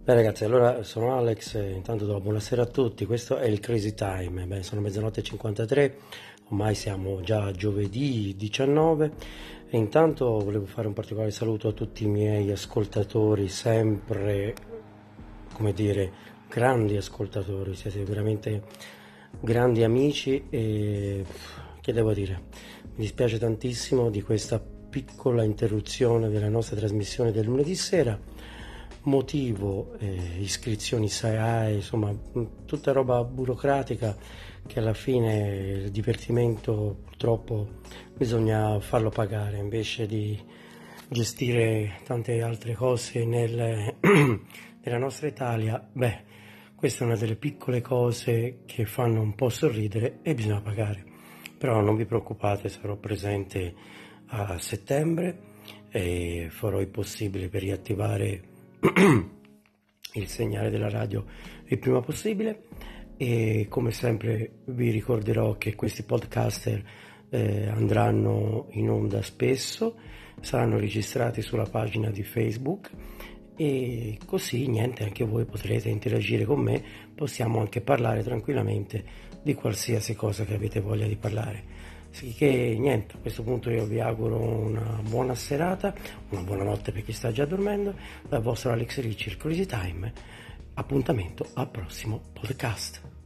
Beh ragazzi, allora sono Alex, intanto do buonasera a tutti, questo è il Crazy Time. Beh, sono mezzanotte e 53, ormai siamo già a giovedì 19 e intanto volevo fare un particolare saluto a tutti i miei ascoltatori, sempre, come dire, grandi ascoltatori, siete veramente grandi amici e che devo dire, mi dispiace tantissimo di questa piccola interruzione della nostra trasmissione del lunedì sera. Motivo, iscrizioni SAE, insomma, tutta roba burocratica che alla fine il divertimento purtroppo bisogna farlo pagare invece di gestire tante altre cose nella nostra Italia. Beh, questa è una delle piccole cose che fanno un po' sorridere e bisogna pagare. Però non vi preoccupate, sarò presente a settembre e farò il possibile per riattivare il segnale della radio il prima possibile e come sempre vi ricorderò che questi podcaster andranno in onda spesso, saranno registrati sulla pagina di Facebook e così niente, anche voi potrete interagire con me, possiamo anche parlare tranquillamente di qualsiasi cosa che avete voglia di parlare. Sicché niente, a questo punto io vi auguro una buona serata, una buona notte per chi sta già dormendo, dal vostro Alex Ricci, il Crazy Time. Appuntamento al prossimo podcast.